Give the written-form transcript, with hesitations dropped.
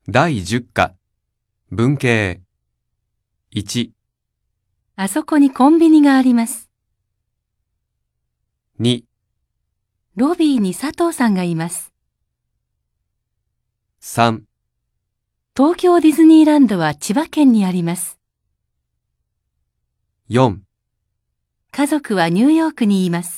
第10課、文系。1、 あそこにコンビニがあります。 2、 ロビーに佐藤さんがいます。 3、 東京ディズニーランドは千葉県にあります。 4 家族はニューヨークにいます。